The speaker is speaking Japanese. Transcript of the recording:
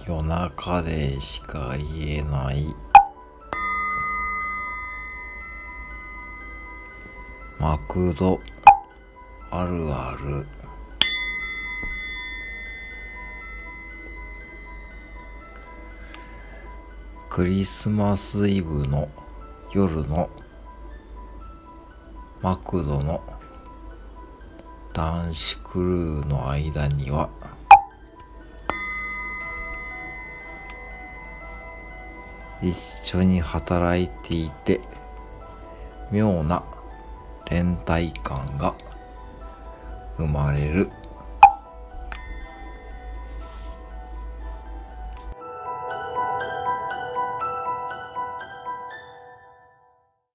夜中でしか言えないマクドあるある。クリスマスイブの夜のマクドの男子クルーの間には一緒に働いていて妙な連帯感が生まれる。